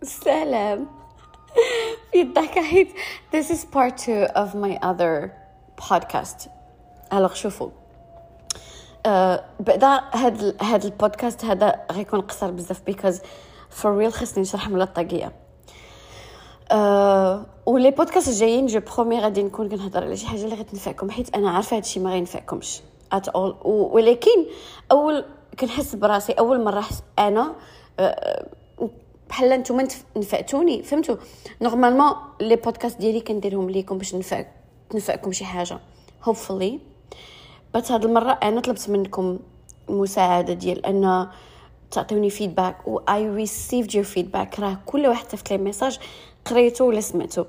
سلام. في الضحكة حيت this is part 2 of my other podcast. alors شوفوا بعدا هاد البودكاست هذا غيكون قصير بزاف because for real خصني نشرح من الطاقية. ولي بودكاست الجايين جو برومي غادي نكون كنهضر على شي حاجه اللي غتنفعكم حيت انا عارفه هادشي ما غينفعكمش at all. ولكن اول كنحس براسي اول مره انا بحال نتوما نفعتوني فهمتوا. نورمالمون لي بودكاست ديالي كنديرهم ليكم باش نفعكم شي حاجه hopefully. بس هاد المره انا طلبت منكم مساعده ديال ان تعطوني فيدباك و I received your feedback. راه كل واحد صيفط لي ميساج قريته ولا سمعته.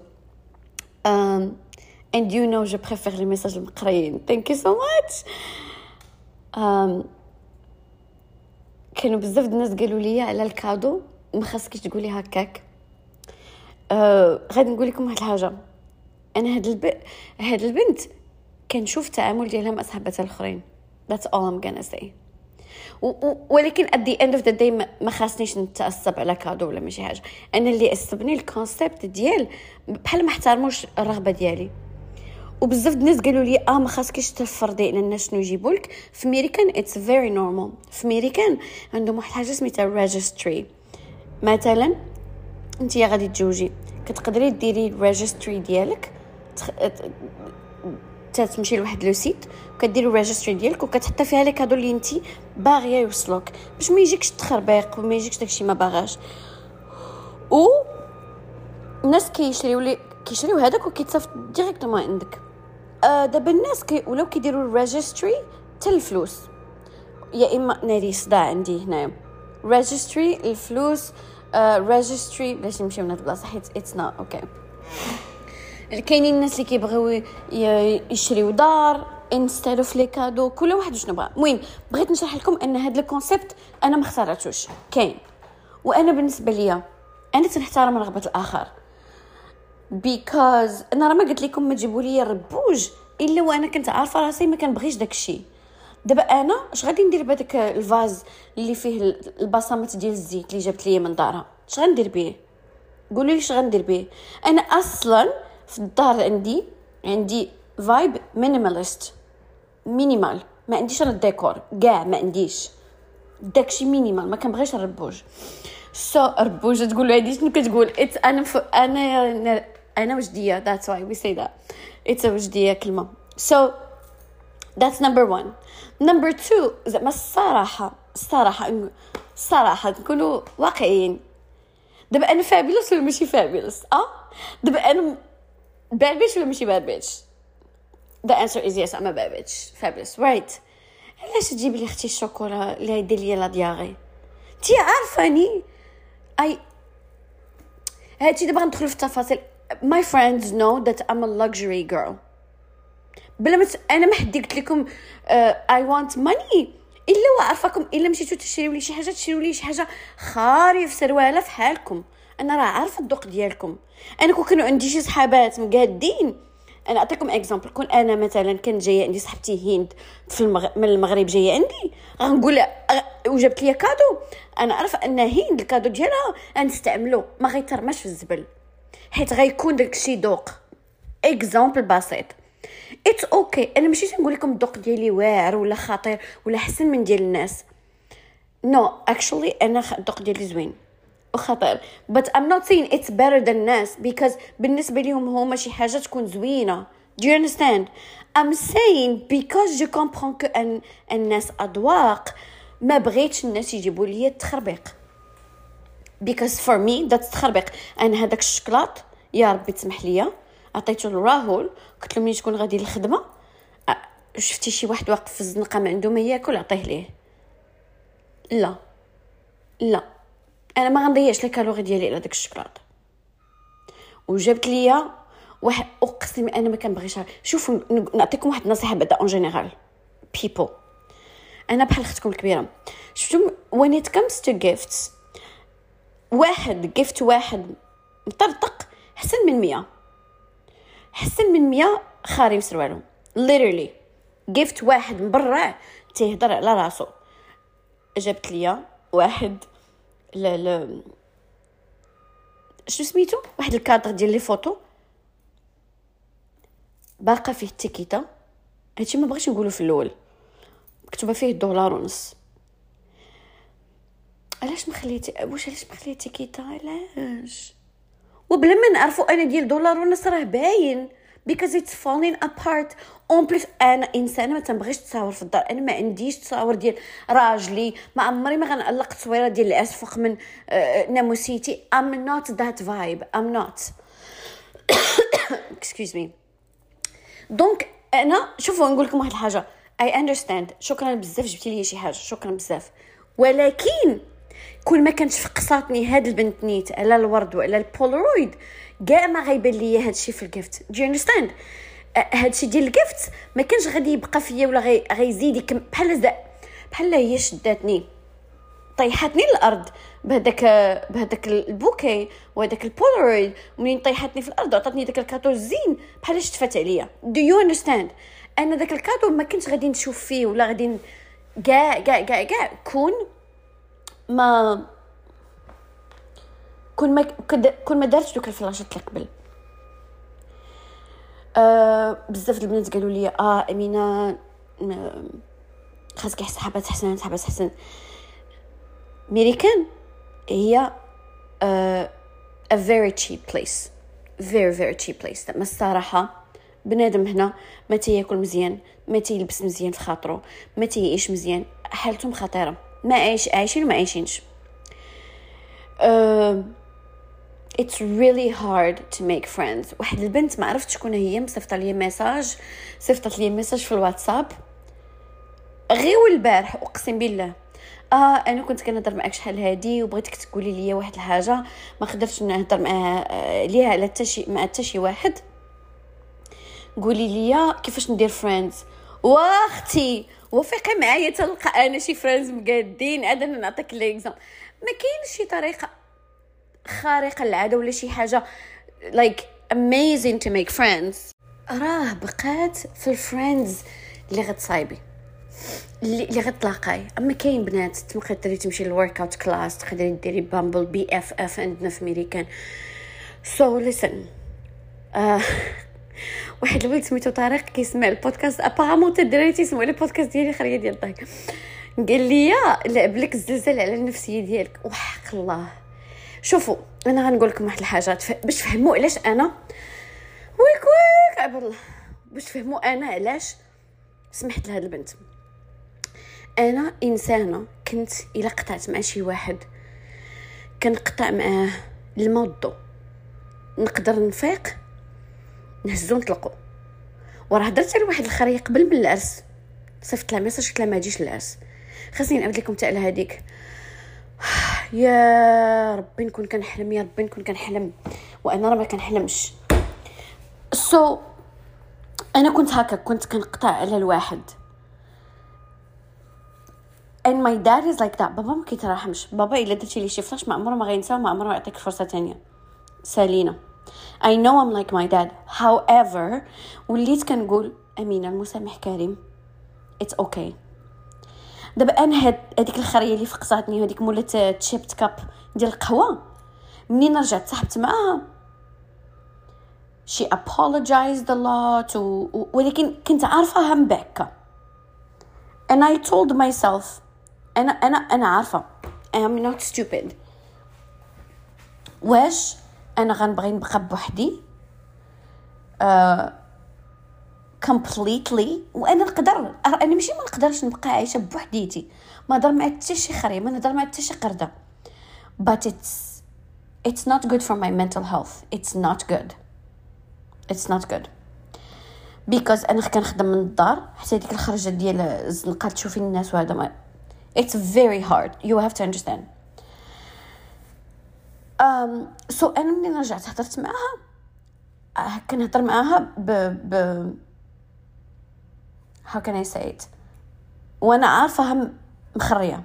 and you know je préfère les messages المقريين. thank you so much. كانوا بزاف الناس قالوا لي على الكادو ما خاصكيش تقولي هكاك. غادي نقول لكم واحد الحاجه. انا هاد البنت كنشوف التعامل ديالها مع صحاباتها الاخرين. that's all I'm gonna say. ولكن at the end of the day ما خاصنيش نتعصب على كادو ولا ماشي حاجه. انا اللي عصبني الكونسيبت ديال بحال ما احترموش الرغبه ديالي. وبزاف الناس قالوا لي ما خاصكيش تفرضي على الناس شنو يجيبوا لك. في امريكان اتس فيري نورمال. في امريكان عندهم واحد الحاجه سميتها ريجستري. مثلا انت غادي تجوجي كتقدري ديري الريجستري ديالك تمشي لواحد لو سيت وكديري الريجستري ديالك وكتحطي فيها لي كادو اللي انت باغيه يوصلوك باش ما يجيكش تخربيق وما يجيكش داكشي ما باغاش. و الناس كيشريو هذاك وكيتصيفط ديريكتومون عندك. دابا الناس ولاو كيديروا الريجستري حتى الفلوس. يا اما ناري صداع عندي هنايا ريجستري الفلوس ريجستري باش نمشيو من هاد البلاصه حيت اتس نوت اوكي. كاينين الناس اللي كيبغيو يشريو دار انستيد اوف لي كادو. كل واحد شنو بغا. المهم بغيت نشرح لكم ان هاد الكونسيبت انا ما اخترعتوش كاين. وانا بالنسبه ليا انا تنحترم رغبه الاخر because انا راه ما قلت لكم ما تجيبوا لي الربوج الا وانا كنت عارفه راسي ما كنبغيش داكشي. دابا انا اش غادي ندير بهذاك الفاز اللي فيه البصمات ديال الزيت اللي جبت لي من دارها؟ اش غندير به؟ قولوا لي اش غندير به. انا اصلا في الدار عندي فايب مينيماليست مينيمال. ما عنديش انا الديكور كاع ما عنديش داكشي مينيمال. ما كنبغيش الربوج. الربوج تقولوا عندي شنو كتقول اتس انا وجديه. that's why we say that it's a وجديه كلمه. so that's number 1. number 2 زعما الصراحه نكونوا واقعيين. دابا انا فابيلوس ولا ماشي فابيلوس؟ دابا انا بابيش ولا ماشي بابيش؟ the answer is yes I'm a babbage fabulous right. علاش تجيبي لي اختي الشوكولا اللي يدير لي لا دياغي؟ انت عارفاني هادشي دابا غندخلوا في التفاصيل. my friends know that I'm a luxury girl. بلا انا ما حد قلت لكم I want money الا وعارفاكم. الا مشيتو تشريو لي شي حاجه تشريو لي شي حاجه خاري في سروالة في حالكم. انا راه عارفه الذوق ديالكم. انا كون عندي شي صحابات مقادين انا اعطيكم اكزامبل. كون انا مثلا كان جايه عندي صاحبتي هند من المغرب جايه عندي غنقول وجبت لي كادو. انا عارفه ان هند الكادو ديالها غنستعملو ما غيترماش في الزبل حيت غيكون داكشي ذوق. اكزامبل بسيط اتس اوكي. انا ماشي نقول لكم الذوق ديالي واعر ولا خطير ولا حسن من ديال الناس. نو اكشولي انا الذوق ديالي زوين وخطير but I'm not saying it's better than الناس because بالنسبه لهم هما شي حاجه تكون زوينه. do you understand? I'm saying because je comprends que الناس اذواق ما بغيتش الناس يجيبوا لي التخربيق because for me that's تخربيق. انا هذاك الشكلاط يا ربي تسمح لي عطيته لراهول قلت له ملي تكون غادي للخدمه شفتي شي واحد واقف في الزنقه ما عنده ما ياكل عطيه ليه. لا انا ما غنضيعش لي كالوري ديالي على داك الشكلاط. وجبت ليا واحد اقسم انا ما كنبغيش. شوفوا نعطيكم واحد النصيحه بعدا اون جينيرال people. انا بحال اختكم الكبيره. شفتوا when it comes to gifts gift واحد مطرطق حسن من 100 خاري مسروالو literally. gift واحد مبرع تيهضر على راسو. جبت ليا واحد شنو سميتو واحد الكادر ديال لي فوتو باقا فيه التيكيتا. هادشي ما بغيتش نقولو في الاول، مكتوبه فيه $1.50. علاش ما خليتي التيكيتا؟ علاش؟ وبلا ما نعرفوا انا ديال $1.50 راه باين because it's falling apart. اون بليس انا انسانه ما تنبغيش تصاور في الدار، انا ما عنديش تصاور ديال راجلي، ما عمري ما غنعلق تصويره ديال العرس فوق من ناموسيتي. I'm not that vibe. I'm not excuse me. دونك انا شوفوا نقول لكم واحد الحاجه. I understand. شكرا بزاف جبتي لي شي حاجه، شكرا بزاف. ولكن كل ما كانت فقصاتني هاد البنت نيت على الورد وعلى البولارويد كاع ما غيبان ليا هادشي في الجيفت. Do you understand؟ هادشي ديال الجيفت ما كانش غادي يبقى فيا ولا غيزيد بحال هي شداتني طيحتني الارض بهداك البوكي وهداك البولارويد. منين طيحتني في الارض وعطاتني داك الكاتو الزين بحال شتفات عليا. Do you understand؟ انا داك الكاتو ما كنتش غادي نشوف فيه ولا غادي كاع كون ما دارتش دوك الفلاشات اللي قبل. بزاف البنات قالوا لي امينه خاصك حسابات حسن. ميريكان هي a very cheap place, very cheap place. ما الصراحه بنادم هنا ما تياكل مزيان، ما تيلبس مزيان في خاطرو، ما تيعيش مزيان، حالتهم خطيره، ما عايشين وما عايشينش. it's really hard to make friends. واحد البنت ما عرفت شكون هي صيفطت لي ميساج في الواتساب غير البارح، اقسم بالله. انا كنت كنهضر معاك شحال هادي وبغيتك تقولي لي واحد الحاجه، ما قدرتش نهضر معها ليها على حتى شي واحد. قولي لي كيفاش ندير فريندز. واختي وفقي معايا تلقى انا شي فريندز مقادين. انا نعطيك ليكزامبل، ما كاينش شي طريقه خارقه للعاده ولا شي حاجه like amazing to make friends. راه بقات في الفريندز اللي غتصايبي اللي غتلاقاي. اما كاين بنات تقدري تمشي للورك اوت كلاس، تقدري ديري بامبل BFF عندنا في امريكان. سو ليسن واحد الولد سميتو طارق كيسمع البودكاست ابارامون تدري تيسمعوا لي بودكاست ديالي خريه ديال الضحك. قال لي لعب لك الزلزال على النفسيه ديالك. وحق الله شوفوا انا غنقول لكم واحد الحاجات باش تفهموا علاش انا ويك عبد الله، باش تفهموا انا علاش سمحت لهاد البنت. انا انسانه كنت الا قطعت مع شي واحد كنقطع معاه الموضوع، نقدر نفيق نهزو نطلقو. وراه هضرت على واحد الخريه قبل من العرس، صيفط لها ميساج قلت لها ما تجيش للعرس. خاصني نعاود لكم تاع هذيك. يا ربي نكون كنحلم وانا راه ما كنحلمش. انا كنت هكا، كنت كنقطع على الواحد and my dad is like that. بابا ما كيتراحمش. بابا الا درتي لي شي فلاش ما عمره ما غينسى وما عمره ما يعطيك فرصه تانية. سالينا I know I'm like my dad. however وليت كنقول امينه المسامح كريم it's okay. دابا انا هذيك الخريه اللي فقصاتني هذيك مولات تشيبت كاب ديال القهوه، منين رجعت صاحبت معاها she apologized a lot ولكن كنت عارفه هم باكا and I told myself انا عارفه I'm not stupid. واش انا غنبغي نبقى بوحدي completely؟ وانا نقدر، انا ماشي ما نقدرش نبقى عايشه بوحديتي، ما نهضر مع حتى شي خريه، ما نهضر مع حتى شي قرده. but it's not good for my mental health. it's not good because انا كنخدم من الدار حتى ديك الخرجه ديال الزنقه تشوفي الناس وهذا ما it's very hard. you have to understand. so انا منين رجعت هضرت معاها كنهضر معاها ب how can I say it وانا عارفه هم مخريه.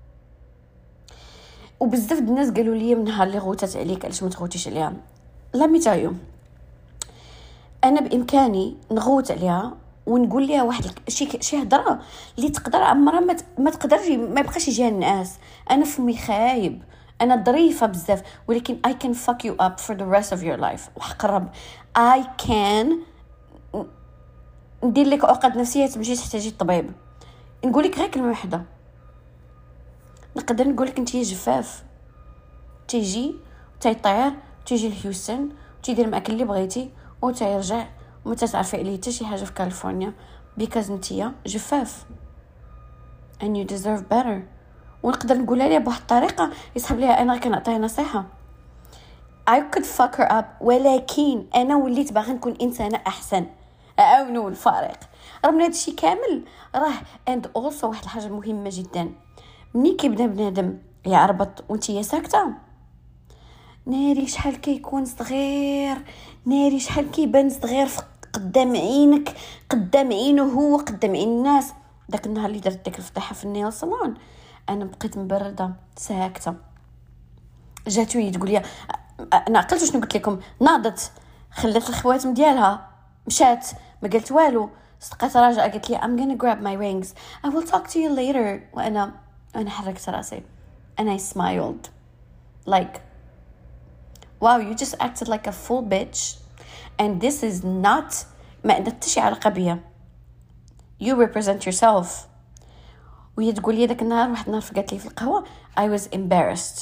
وبزاف الناس قالوا لي من نهار اللي غوتات عليك علاش ما تغوتيش عليها. لا ميتايو انا بامكاني نغوت عليها ونقول لها واحد شي هضره اللي تقدر عمرها ما تقدرش ما يبقاش يجيها الناس. انا فمي خايب، انا ظريفه بزاف، ولكن I can fuck you up for the rest of your life. وحق الرب I can ندير لك عقد نفسيه تمشي تحتاجي الطبيب. نقول لك غير كلمه واحده، نقدر نقول لك انت جفاف، تيجي تيطير تيجي لهيوستن تيدير معك اللي بغيتي وتيرجع وما تعرفي عليه حتى شي حاجه في كاليفورنيا because نتيا جفاف and you deserve better. ونقدر نقولها ليها بواحد الطريقه يسحب ليها انا كنعطيها نصيحه I could fuck her up، ولكن انا وليت باغا نكون انسانه احسن. اعاونوا الفارق رغم هذا الشيء كامل راه. and also واحد الحاجه مهمه جدا، مني كيبدا بنادم يعربط وانتي ساكته، ناري شحال كيكون صغير، ناري شحال كيبان صغير قدام عينك، قدام عينه هو، قدام عين الناس. داك النهار اللي درت ديك الفضيحه في النيل صالون انا بقيت مبرده ساكته. جاتو تقول لي انا عقلت شنو قلت لكم، ناضت خلات الخواتم ديالها مشات ما قالت والو، صدقات راجعه قالت لي I'm gonna grab my rings I will talk to you later. وانا حركت راسي and I smiled like wow you just acted like a full bitch and this is not ما عندها حتى شي علاقه بيا. you represent yourself. وهي تقول لي داك النهار واحد النهار فقالت لي في القهوه I was embarrassed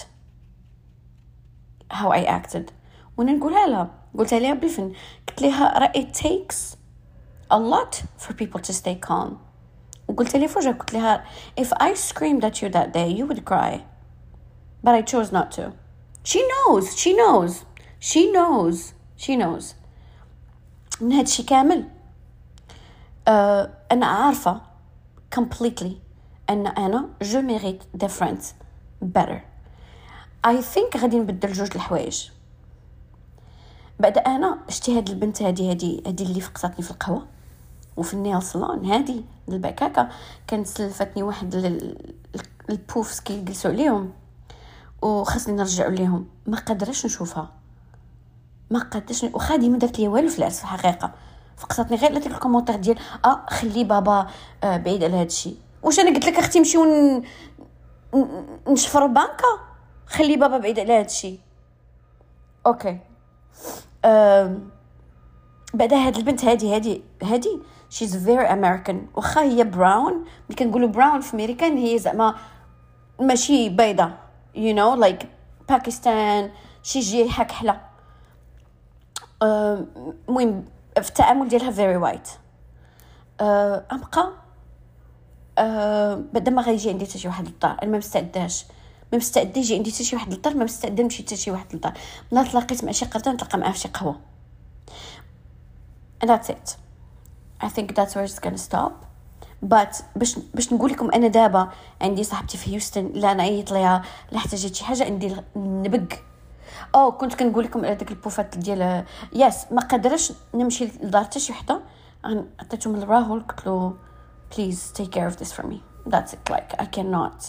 how I acted. وانا نقولها لها، قلت لها بالفن، قلت لها راه it takes a lot for people to stay calm. وقلت لها فوجا، قلت لها if I screamed at you that day you would cry but I chose not to. she knows من هاد الشي كامل. أنا عارفة completely أن أنا je mérite the friends better. I think غادي نبدل جوج الحوايج. بعد أنا شتي هاد البنت هادي اللي فقطتني في القهوة وفي النيل صالون، هادي البكاكة كانت سلفتني واحد البوفس كيجلسوا عليهم وخاصني نرجعوا ليهم. ما قدرش نشوفها، ما قدرش، وخادي ما درت لي والو في العرس في الحقيقه. فقطتني غير لك الكومونتير ديال خلي بابا بعيد على هذا الشيء. واش انا قلت لك اختي نمشيو نشفروا بانكا؟ خلي بابا بعيد على هذا الشيء. اوكي. بعد هاد البنت هادي she's very American. واخا هي براون، ملي كنقولوا براون في امريكان هي زعما ماشي بيضه you know like باكستان شي جهه كحله. المهم في التعامل ديالها very white. ابقى بعد ما غيجي عندي حتى شي واحد للدار انا ما مستعده يجي عندي حتى شي واحد للدار، ما مستعده نمشي حتى شي واحد للدار. نهار تلاقيت مع شي قرده نتلاقى معاه في شي قهوه and that's it. I think that's where it's gonna stop. but باش نقول لكم انا دابا عندي صاحبتي في هيوستن لا انا عيط ليها لا احتاجت شي حاجه ندير نبق. كنت كنقول لكم على داك البوفات ديال ياس ما قدرش نمشي لدار حتى شي وحده، عطيتهم لراهول قلت له please take care of this for me. that's it like I cannot.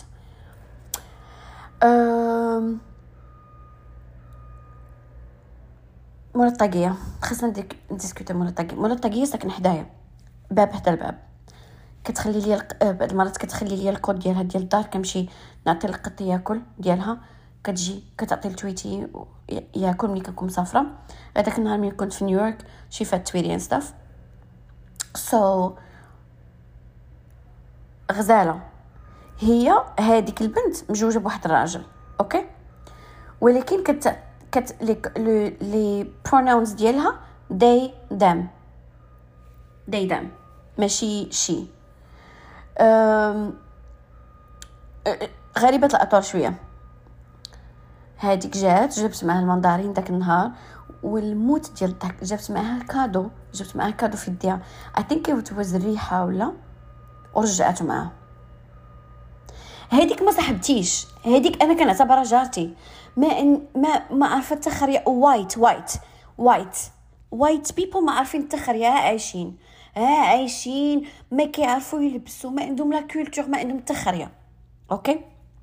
مولا الطاقيه خاصنا نديسكوتي. مولا الطاقيه ساكن حدايا باب حدا الباب، كتخلي لي بعض المرات كتخلي لي الكود ديالها ديال الدار، كنمشي نعطي القط ياكل ديالها، كتجي كتعطي لتويتي ياكل ملي كنكون مسافره. هذاك النهار ملي كنت في نيويورك شي فات تويتي and stuff so غزاله. هي هذيك البنت مجوجه بواحد الراجل اوكي، ولكن كت لي pronouns ديالها they them ماشي شي. غريبه الاطوار شويه. هذيك جبت معها المندارين داك النهار والموت ديال الضحك. جبت معها كادو في يديها I think it was الريحه ولا، ورجعته معها. هذيك ما صاحبتيش، هذيك انا كنعتبرها جارتي. ما عرفت تخريا وايت بيبل ما عارفين تخريا، عايشين ما كيعرفوا يلبسوا، ما عندهم لا كولتور، ما عندهم تخريا اوكي.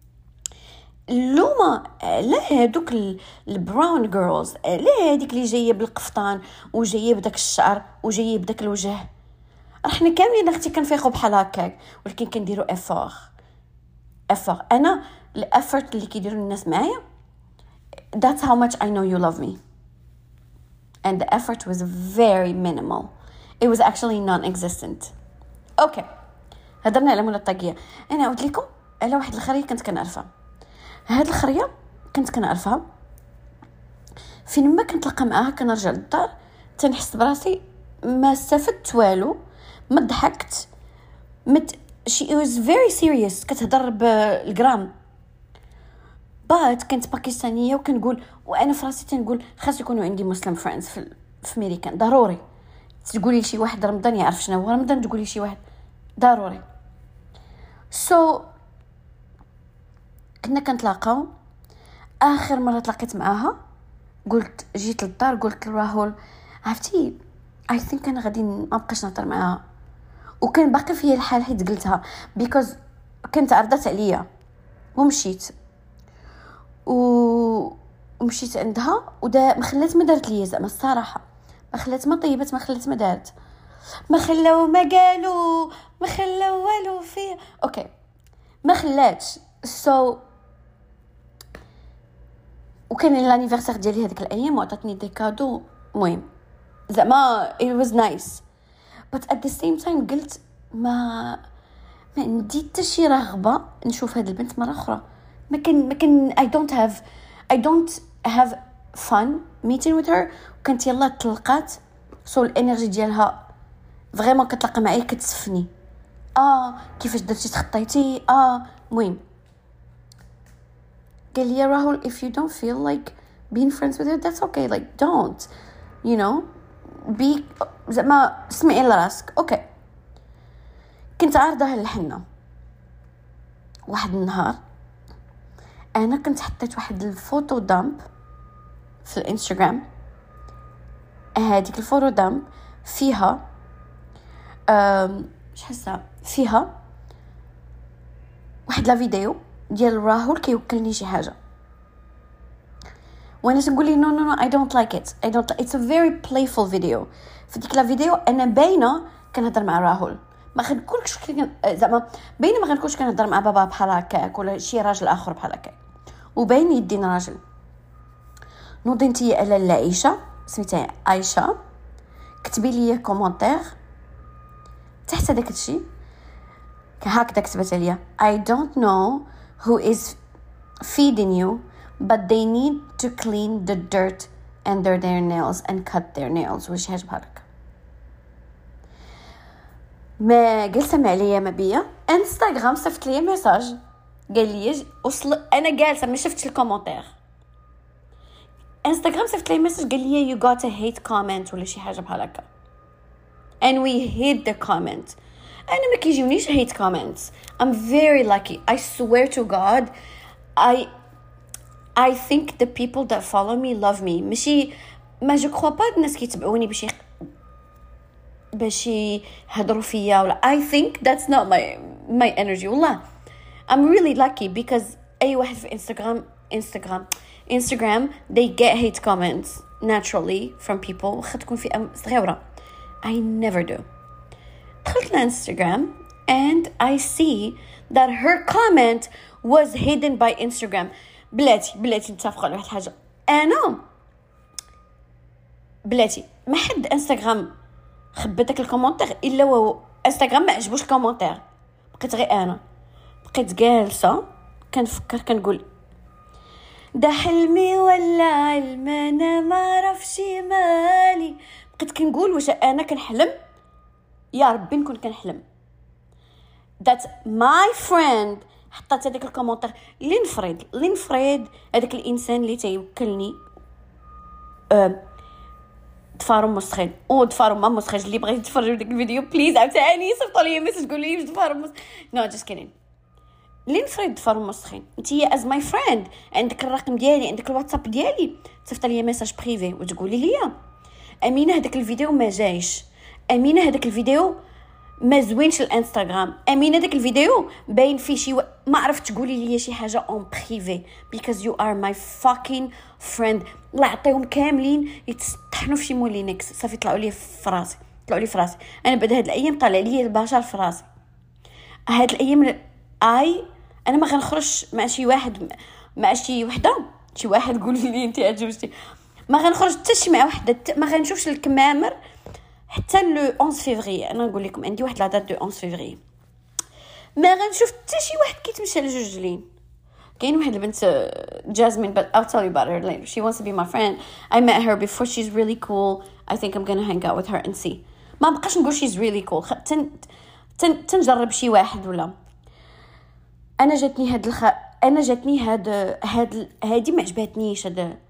اللومه على هذوك البراون جيرلز، على هذيك اللي جايه بالقفطان وجايه بداك الشعر وجايه بداك الوجه. احنا كاملين اختي كنفيقوا بحال هكاك، ولكن كنديروا افور. انا الافورت اللي كيديروا الناس معايا that's how much I know you love me. And the effort was very minimal. It was actually non-existent. Okay. هضرنا على مولا الطاقية. أنا قلت لكم على واحد الخرية كنت كنعرفها. هاد الخرية كنت كنعرفها فين ما كنتلقى معاها كنرجع للدار تنحس براسي ما استفدت والو، ما ضحكت، she was very serious كتهضر بالجرام. بعد كنت باكستانية وكنقول وانا في راسي تنقول خاص يكونوا عندي مسلم فريندز في امريكان ضروري. تقولي لشي واحد رمضان يعرف شنو هو رمضان، تقولي شي واحد ضروري. كنا كنتلاقاو. اخر مره تلاقيت معاها قلت جيت للدار قلت لراهول عرفتي I think انا غادي ما بقاش نهضر معاها، وكان باقي فيا الحال حيت قلتها because كنت عرضت عليا ومشيت ومشيت عندها ودا ما خلات ما دارت لي زعما الصراحه، ما خلات ما طيبت، ما خلات ما دارت، ما خلاو ما قالوا ما خلاو والو فيه. اوكي ما خلاتش. وكان الانيفرسير ديالي هذيك الايام وعطاتني دي كادو مهم زعما it was nice but at the same time قلت ما عندي حتى شي رغبه نشوف هاد البنت مره اخرى. ما كان I don't have fun meeting with her. وكانت يلا تلقات الانرجي ديالها فريمون كتلقى معايا كتسفني. كيفاش درتي تخطيتي مهم قال لي راهول if you don't feel like being friends with her that's okay, like don't you know be زعما سمعي لراسك. اوكي كنت عارضه الحنه. واحد النهار انا كنت حطيت واحد الفوتو دامب في الانستغرام. هذيك الفوتو دامب فيها حاسه فيها واحد لا فيديو ديال راهول كيوكلني شي حاجه وانا تنقول لي no I don't like it it's a very playful video. في ديك لا فيديو انا باينه كنهضر مع راهول، ما غنقولكش زعما باينه ما غنكونش كنهضر مع بابا بحال هكاك ولا شي راجل اخر بحال هكاك، وباين يدين راجل. نوضي نتي على العيشه سميتها عايشه كتبي لي كومونتير تحت داك الشيء هكذا كتبت عليا I don't know who is feeding you but they need to clean the dirt under their nails and cut their nails وش حاجه بحالك. ما جلسه مع ليا ما بيا انستغرام صيفط لي ميساج قال لي وصل انا جالسه ما شفتش الكومونتير. انستغرام صيفط لي ميساج قال لي you got a hate comment ولا شي حاجه بحال هكا and we hid the comment. أنا ما كيجونيش hate comments. I'm very lucky. I swear to God. I think the people that follow me love me. ماشي ما je crois pas الناس كيتبعوني باش يهضروا فيا ولا I think that's not my energy. والله I'm really lucky because أي واحد في Instagram they get hate comments naturally from people واخا تكون فئة صغيرة. I never do. دخلت لإنستغرام and I see that her comment was hidden by Instagram. بلاتي نتفقوا على واحد الحاجة. أنا بلاتي ما حد انستغرام خبى داك الكومونتير الا هو انستغرام ما عجبوش الكومونتير. بقيت غير انا بقيت جالسه كنفكر كنقول ده حلمي ولا علم انا ما عرفش مالي. بقيت كنقول واش انا كنحلم يا ربي نكون كنحلم. that my friend حطت هذاك الكومونتير لنفرض هذاك الانسان اللي تيوكلني دفارم مسخين دفارم ما مسخين. اللي بغيت تفرجوا داك الفيديو بليز عاوتاني صيفطوا لي مسج قولوا لي دفارم نو جاست كيدين. لنفرض دفارم مسخين انتي از ماي فريند عندك الرقم ديالي عندك الواتساب ديالي تصيفط لي ميساج بريفي وتقولي لي امينه هذاك الفيديو ما جايش، امينه هذاك الفيديو ما زوينش الانستغرام، امينه داك الفيديو باين فيه شي ما عرفت تقولي لي شي حاجه اون بريفي because you are my fucking friend. الله يعطيهم كاملين يتطحنوا في شي مولينكس صافي طلعوا لي في راسي انا بعد هاد الايام طالع لي البشر في راسي. هاد الايام انا ما غنخرج مع شي واحد مع شي وحده شي واحد قول لي انت عجبتي، ما غنخرج حتى شي مع وحده، ما غنشوفش الكمامر حتى لو 11 فيفري. انا نقول لكم عندي واحد لا دات دو 11 فيفري، ما غنشوف حتى شي واحد كيتمشى لجوج لين. كاين واحد البنت جاسمين but I'll tell you about her later. She wants to be my friend. I met her before. She's really cool. I think I'm gonna hang out with her and see. ما بقاش نقول she's really cool. تنجرب شي واحد ولا. انا جاتني هادي ما عجبتنيش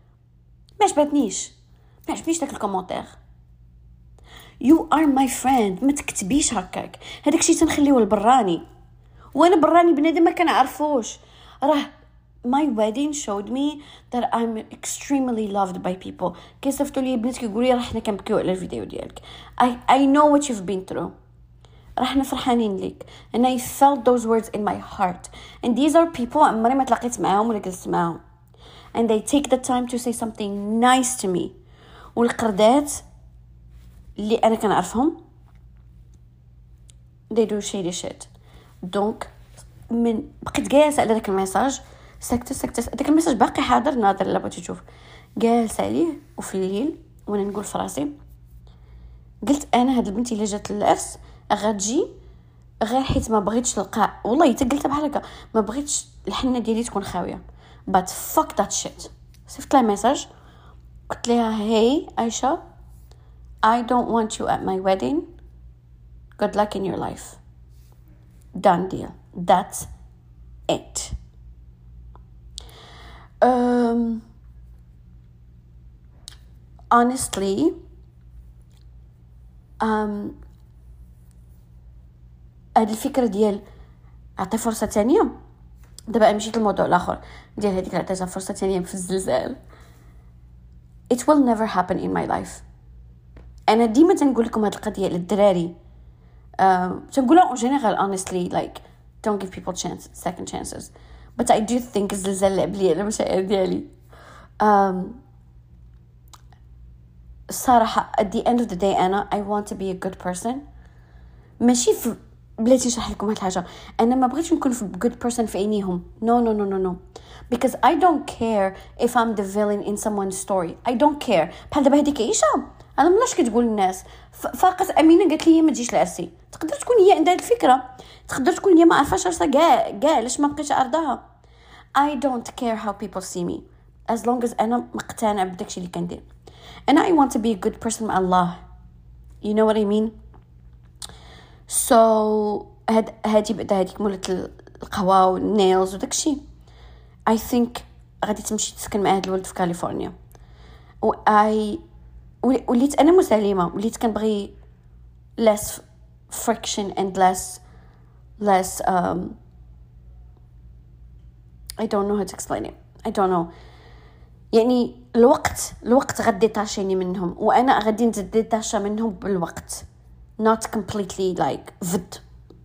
داك الكومونتير. You are my friend. ما تكتبيش هكاك، هذاك الشيء تنخليه البراني، وانا براني بنادم ما كنعرفوش. راه my wedding showed me that I'm extremely loved by people. كيصيفطوا لي بنات كيقولوا لي راه حنا كنبكيو على الفيديو ديالك. I know what you've been through. راه حنا فرحانين ليك. And I felt those words in my heart. And these are people عمري ما تلاقيت معاهم ولا جلست معاهم. And they take the time to say something nice to me. والقردات اللي انا كنعرفهم they do shady shit. دونك من بقيت جالسه على داك الميساج سكتة داك الميساج باقي حاضر ناظر لا بغيتي تشوف، جالسه عليه. وفي الليل وانا نقول في راسي، قلت انا هاد البنت اللي جات للعرس غتجي غير حيت ما بغيتش القاع. والله حتى قلتها بحال هكا، ما بغيتش الحنه ديالي تكون خاويه. but fuck that shit. صيفط لها ميساج قلت لها hey عايشه I don't want you at my wedding. Good luck in your life. Done deal. That's it. Honestly, هاد الفكرة ديال أعطي فرصة تانية، دابا مشيت للموضوع الآخر ديال هذيك اللي عطيتها فرصة تانية في الزلزال. It will never happen in my life. أنا ديما تنقول لكم هاد القضية للدراري، تنقولها en general honestly like don't give people second chances. But I do think الزلزال لعب لي على المشاعر ديالي. الصراحة at the end of the day أنا I want to be a good person. ماشي في بلاتي نشرح لكم هاد الحاجة، أنا ما بغيتش نكون في good person في عينيهم. No. Because I don't care if I'm the villain in someone's story. I don't care. بحال دابا هذيك عيشة انا ملاش كتقول الناس فاقت امينه قالت لي ما تجيش لعرسي. تقدر تكون هي عندها الفكره، تقدر تكون هي ما عارفاش عرسها كاع علاش ما بقيتش عرضها. I don't care how people see me as long as انا مقتنع بداكشي اللي كندير. and I want to be a good person مع الله. you know what I mean. so هادي بعدا هاديك مولات القهوه والنيلز وداكشي I think غادي تمشي تسكن مع هاد الولد في كاليفورنيا. وليت انا مسالمه، وليت كنبغي less friction and less I don't know how to explain it. I don't know. يعني الوقت غادي تاشيني منهم، وانا غادي نتديتاشا منهم بالوقت not completely like vid.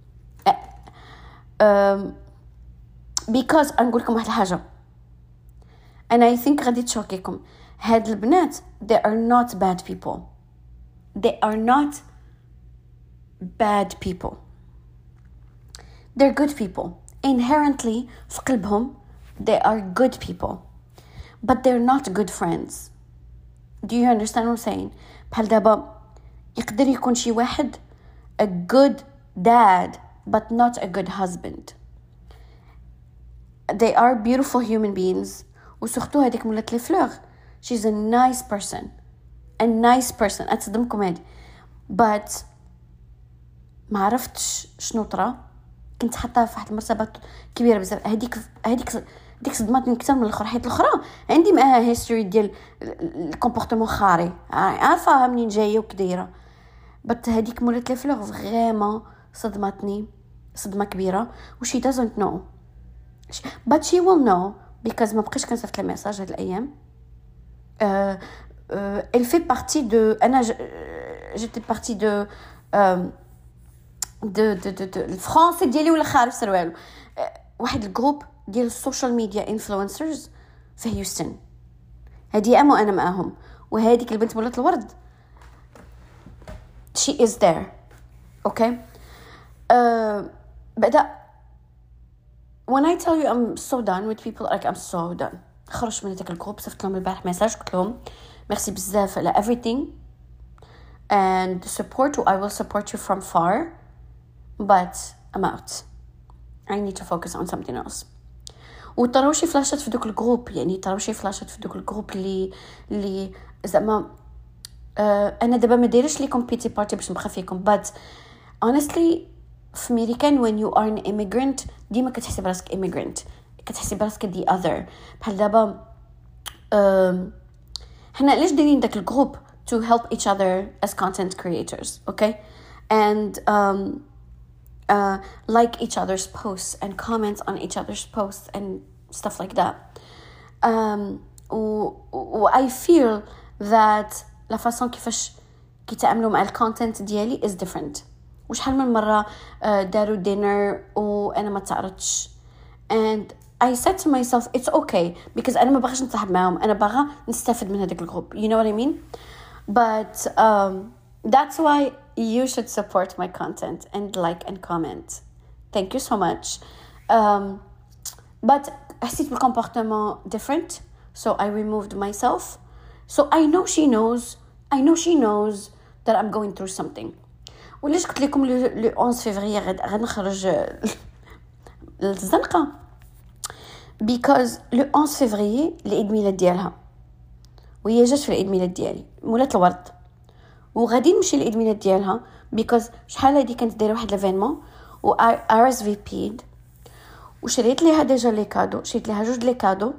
because نقول لكم واحد الحاجه and I think غادي تشوكيكم. هاد البنات they are not bad people. They are not bad people. They're good people. Inherently في قلبهم they are good people. But they're not good friends. Do you understand what I'm saying? بحال دابا يقدر يكون شي واحد a good dad but not a good husband. They are beautiful human beings. وسورتو هذيك مولات لي فلور she's a nice person أتصدمكم هادي. but ما عرفتش شنو طرا، كنت حاطاها في واحد المرتبه كبيره بزاف. هذيك صدمتني اكثر من الاخرى، حيت الاخرى عندي معاها هيستوري ديال الكومبورتمون خاري، عارفاها منين جايه وكدايره. بس هذيك مولات لي فلور فريمون صدمتني صدمه كبيره. و she doesn't know but she will know because ما بقيتش كنصيفط لها ميساج هاد الايام. elle fait partie de انا j'étais partie de الفرنسي ديالي ولا خارج سروالو واحد الجروب ديال السوشيال ميديا انفلونسرز في هيوستن. هادي انا معاهم، وهاديك البنت مولات الورد she is there. okay بعدا when I tell you I'm so done with people, like I'm so done. خرج من هذاك الجروب. صيفط لهم البارح ميساج قلت لهم ميرسي بزاف على everything and support, I will support you from far but I'm out, I need to focus on something else. وطراو شي فلاشات في دوك الجروب، يعني طراو شي فلاشات في دوك الجروب اللي زعما انا دابا ما دايرش ليكم بيتي بارتي باش نبقى فيكم but honestly في امريكان when you are an immigrant ديما كتحسي براسك immigrant، كتحسي براسك the other. بحال دابا حنا علاش دايرين داك الجروب to help each other as content creators, okay, and like each other's posts and comments on each other's posts and stuff like that. I feel that la façon كيفاش كيتعاملوا مع الكونتنت ديالي is different. وشحال من مرة داروا دينر وأنا ما تعرضتش and I said to myself it's okay because أنا ما باغاش نتصاحب معهم، أنا باغا نستفد من هذاك الجروب, you know what I mean. But that's why you should support my content and like and comment. Thank you so much. But حسيت بالcomportement different, so I removed myself. So I know she knows that I'm going through something. وليش قلت لكم le 11 février غنخرج للزنقة because le 11 février العيد ميلاد ديالها وهي جات في العيد ميلاد ديالي مولات الورد وغادي نمشي للعيد ميلاد ديالها because شحال هادي كانت دايره واحد ليفينمون و RSVP'd وشريت ليها ديجا لي كادو، شريت ليها جوج لي كادو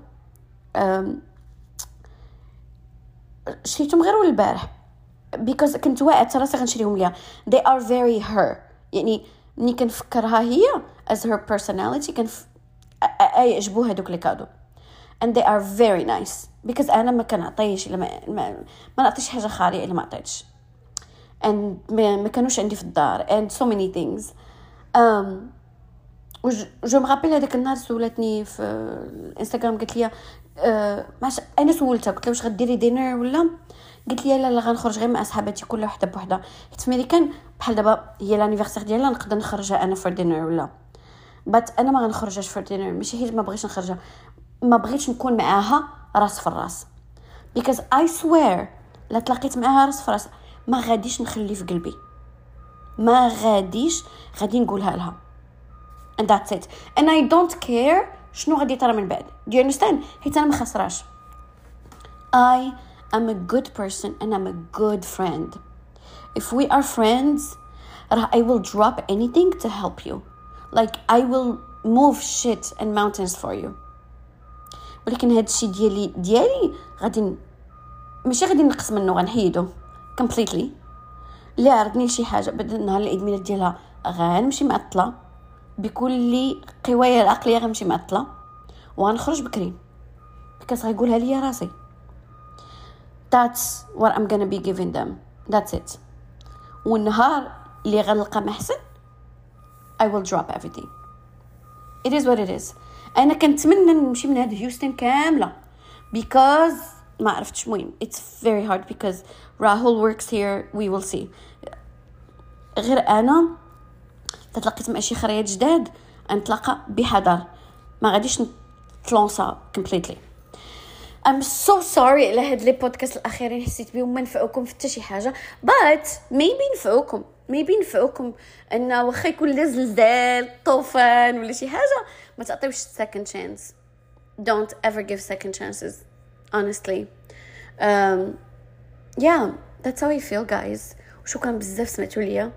شريتهم غير البارح because كنت واعدت راسي غنشريهم ليها. they are very her، يعني ملي كنفكرها هي as her personality يعجبوها دوك لي كادو and they are very nice because أنا ما كنعطيش إلا ما نعطيش حاجة خارية إلا ما عطيتش and ما كانوش عندي في الدار and so many things. جو مغابل هذاك النهار سولتني في الانستغرام قالت لي ماش انا سولتها قلت لها واش غديري دينر ولا، قالت لي لا غنخرج غير مع اصحاباتي كل وحده بوحده حيت في امريكان بحال دابا هي لانيفرسير ديالها نقدر نخرجها انا فور دينر ولا بات انا ما غنخرجهاش فور دينر ماشي حيت ما بغيتش نخرجها، ما بغيتش نكون معاها راس في الراس because I swear لا تلاقيت معاها راس في راس ما غاديش نخلي في قلبي، ما غادي نقولها لها and that's it and I don't care شنو غادي ترى من بعد. do you understand؟ حيت انا ما خسراش. I am a good person and I'm a good friend. if we are friends I will drop anything to help you, like I will move shit and mountains for you. ولكن هاد الشيء ديالي غادي ماشي غادي نقص منه غنحيدو completely. اللي عرضني شي حاجه بعد النهار العيد ميلاد ديالها غنمشي معطله بكل قوايا العقليه، غنمشي معطله وغنخرج بكري because غيقولها لي راسي. that's what I'm gonna be giving them, that's it. والنهار اللي غنلقى محسن I will drop everything. it is what it is. انا كنتمنى نمشي من هاد هيوستن كامله because ما عرفتش مهم it's very hard because Rahul works here, we will see. غير انا تلاقيت مع شي خريات جداد نتلاقى بحذر، ما غاديش نتلونسا completely. I'm so sorry على هاد لي بودكاست الاخيرين حسيت بهم ما نفعوكم في حتى شي حاجه but maybe نفعوكم ان واخا يكون لا زلزال طوفان ولا شي حاجه ما تعطيوش second chance. don't ever give second chances honestly. yeah that's how I feel guys. وشكرا بزاف سمعتوا ليا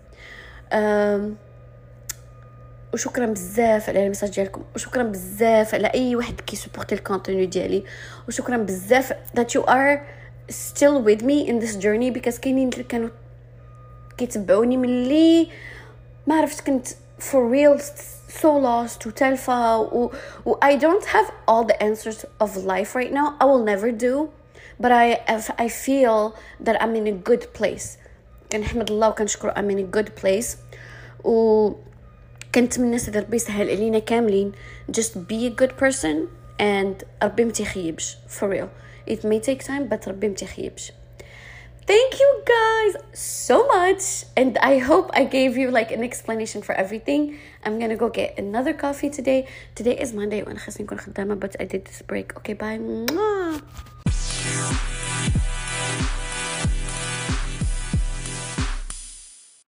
وشكرا بزاف على المساج ديالكم وشكرا بزاف على اي واحد كيسبورتي الكونتوني ديالي وشكرا بزاف that you are still with me in this journey because كاينين اللي كانوا كيتبعوني ملي ما عرفت كنت for real so lost وتالفة و I don't have all the answers of life right now. I will never do but I feel that I'm in a good place. كنحمد الله وكنشكر I'm in a good place و كنتمنى سيدي ربي يسهل علينا كاملين just be a good person and ربي متيخيبش for real. it may take time but ربي متيخيبش. Thank you guys so much, and I hope I gave you like an explanation for everything. I'm gonna go get another coffee today. Today is Monday وأنا خاصني نكون خدامة, but I did this break. Okay, bye.